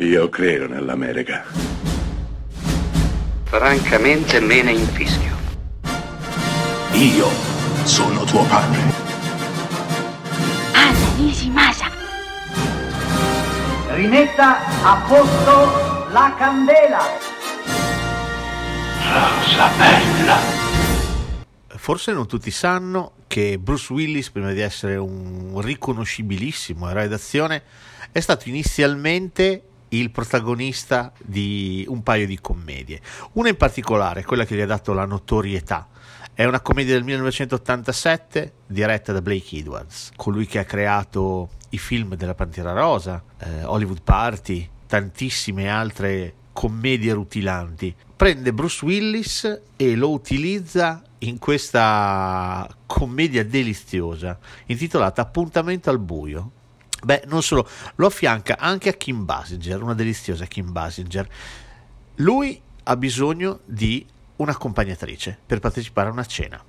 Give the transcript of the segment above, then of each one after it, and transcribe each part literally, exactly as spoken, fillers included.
Io credo nell'America. Francamente me ne infischio. Io sono tuo padre. Anna Nishimasa. Rimetta a posto la candela. Rosa bella. Forse non tutti sanno che Bruce Willis, prima di essere un riconoscibilissimo eroe d'azione, è stato inizialmente il protagonista di un paio di commedie. Una in particolare, quella che gli ha dato la notorietà, è una commedia del millenovecentottantasette diretta da Blake Edwards, colui che ha creato i film della Pantera Rosa, eh, Hollywood Party, tantissime altre commedie rutilanti. Prende Bruce Willis e lo utilizza in questa commedia deliziosa intitolata Appuntamento al buio. Beh, non solo, lo affianca anche a Kim Basinger, una deliziosa Kim Basinger. Lui ha bisogno di un'accompagnatrice per partecipare a una cena.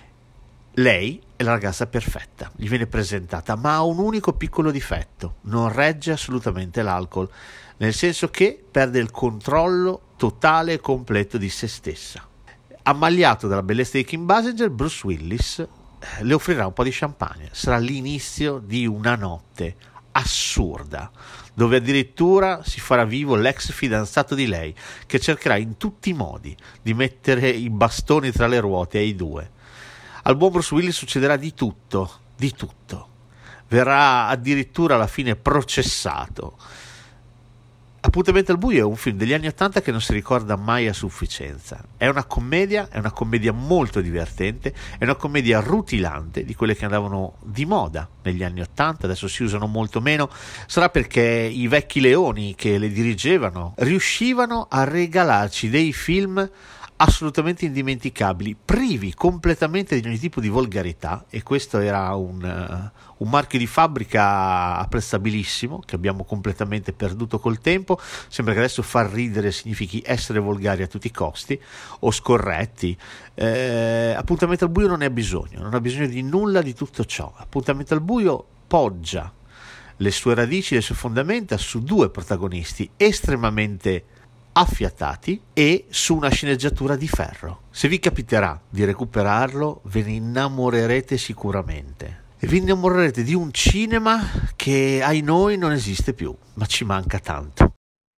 Lei è la ragazza perfetta, gli viene presentata, ma ha un unico piccolo difetto: non regge assolutamente l'alcol, nel senso che perde il controllo totale e completo di se stessa. Ammaliato dalla bellezza di Kim Basinger, Bruce Willis le offrirà un po' di champagne. Sarà l'inizio di una notte assurda, dove addirittura si farà vivo l'ex fidanzato di lei, che cercherà in tutti i modi di mettere i bastoni tra le ruote ai due. Al buon Bruce Willis succederà di tutto, di tutto. Verrà addirittura alla fine processato. Appuntamento al buio è un film degli anni Ottanta che non si ricorda mai a sufficienza. È una commedia, è una commedia molto divertente, è una commedia rutilante, di quelle che andavano di moda negli anni Ottanta, adesso si usano molto meno. Sarà perché i vecchi leoni che le dirigevano riuscivano a regalarci dei film assolutamente indimenticabili, privi completamente di ogni tipo di volgarità, e questo era un, uh, un marchio di fabbrica apprezzabilissimo che abbiamo completamente perduto col tempo. Sembra che adesso far ridere significhi essere volgari a tutti i costi o scorretti. Eh, Appuntamento al buio non ne ha bisogno, non ha bisogno di nulla di tutto ciò. Appuntamento al buio poggia le sue radici, le sue fondamenta su due protagonisti estremamente affiatati e su una sceneggiatura di ferro. Se vi capiterà di recuperarlo, ve ne innamorerete sicuramente, e vi innamorerete di un cinema che ai noi non esiste più, ma ci manca tanto.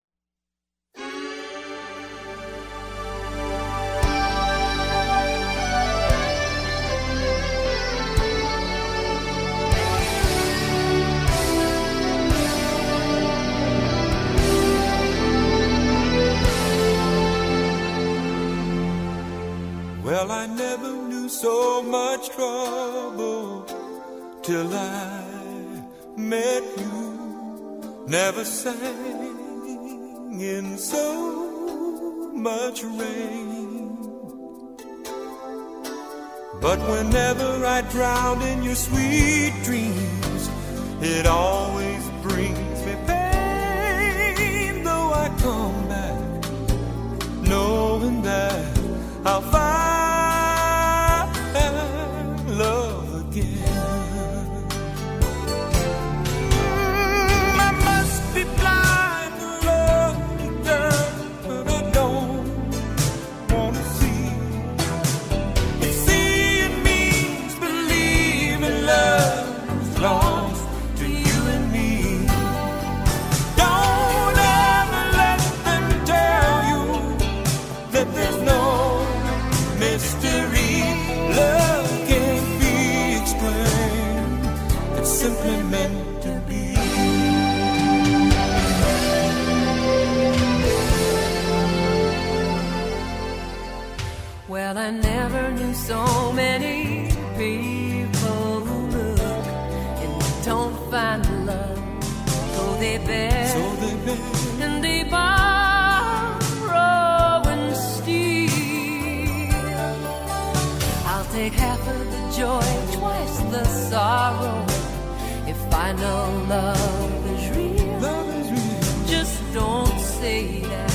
Well, I never knew so much trouble till I met you. Never sang in so much rain. But whenever I drown in your sweet dreams, it always brings me pain. Though I come back knowing that I'll find love again. Mm, I must be blind to love, girl, but I don't wanna see. If seeing means believing love belongs to you and me. Don't ever let them tell you that there's no mystery. Love can't be explained. It's simply meant to be. Well, I never knew so many people who look and don't find love. So they beg, So they beg, and they borrow and steal. I'll take half of the joy, twice the sorrow, if I know love is real. love is real. Just don't say that